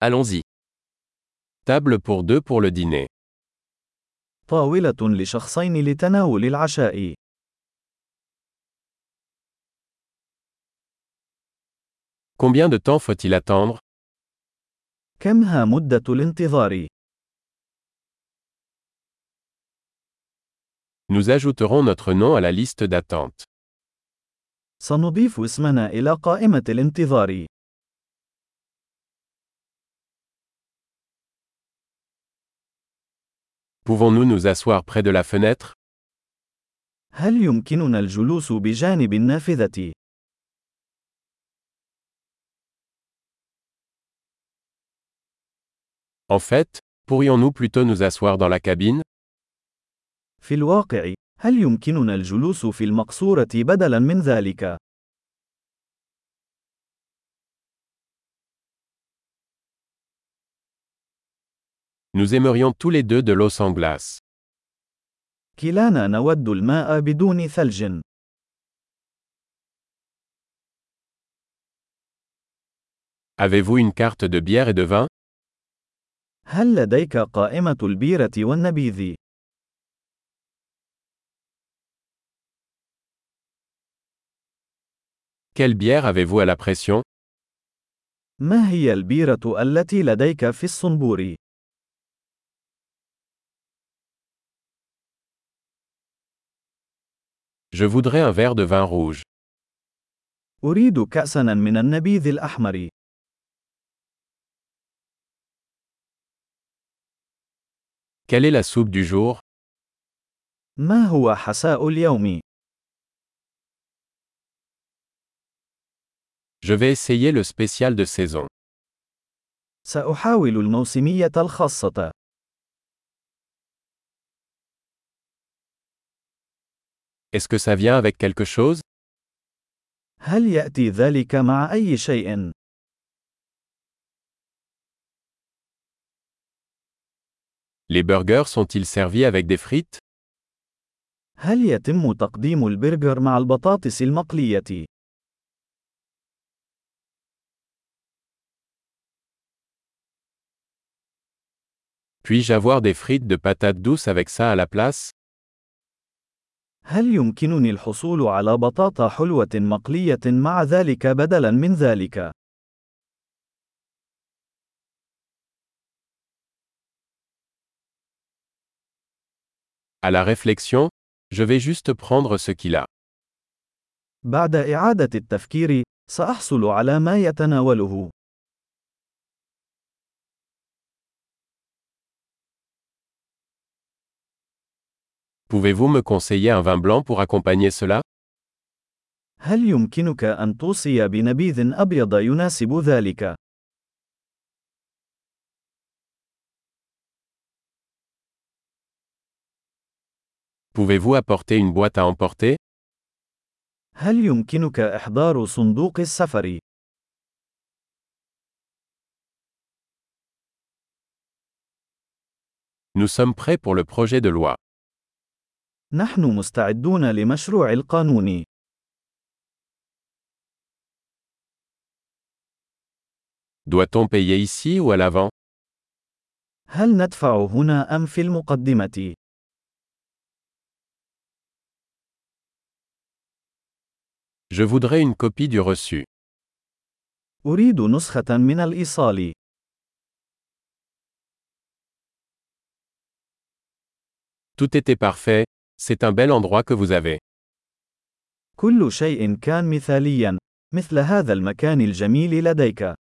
Allons-y. Table pour deux pour le dîner. طاولة لشخصين لتناول العشاء. Combien de temps faut-il attendre? كم مدة الانتظار؟ Nous ajouterons notre nom à la liste d'attente. سنضيف اسمنا إلى قائمة الانتظار. Pouvons-nous nous asseoir près de la fenêtre? هل يمكننا الجلوس بجانب النافذة؟ En fait, pourrions-nous plutôt nous asseoir dans la cabine? في الواقع، هل يمكننا الجلوس في المقصورة بدلاً من ذلك؟ Nous aimerions tous les deux de l'eau sans glace. كلانا نود الماء بدون ثلج. Avez-vous une carte de bière et de vin? هل لديك قائمة البيرة والنبيذ؟ Quelle bière avez-vous à la pression? ما هي البيرة التي لديك في الصنبور؟ Je voudrais un verre de vin rouge. أريد كأساً من النبيذ الأحمر. Quelle est la soupe du jour? ما هو حساء اليوم؟ Je vais essayer le spécial de saison. سأحاول الموسمية الخاصة. Est-ce que ça vient avec quelque chose? هل يأتي ذلك مع أي شيء؟ Les burgers sont-ils servis avec des frites? هل يتم تقديم البرجر مع البطاطس المقلية؟ Puis-je avoir des frites de patates douces avec ça à la place? هل يمكنني الحصول على بطاطا حلوة مقلية مع ذلك بدلاً من ذلك؟ À la réflexion, je vais juste prendre ce qu'il a. بعد إعادة التفكير، سأحصل على ما يتناوله. Pouvez-vous me conseiller un vin blanc pour accompagner cela? هل يمكنك أن توصي بنبيذ أبيض يناسب ذلك؟ Pouvez-vous apporter une boîte à emporter? هل يمكنك إحضار صندوق السفر؟ Nous sommes prêts pour le projet de loi. نحن مستعدون لمشروع القانون. Doit-on payer ici ou à l'avant? هل ندفع هنا أم في المقدمة؟ Je voudrais une copie du reçu. أريد نسخة من الإيصال. Tout était parfait, c'est un bel endroit que vous avez. كل شيء كان مثاليا. مثل هذا المكان الجميل لديك.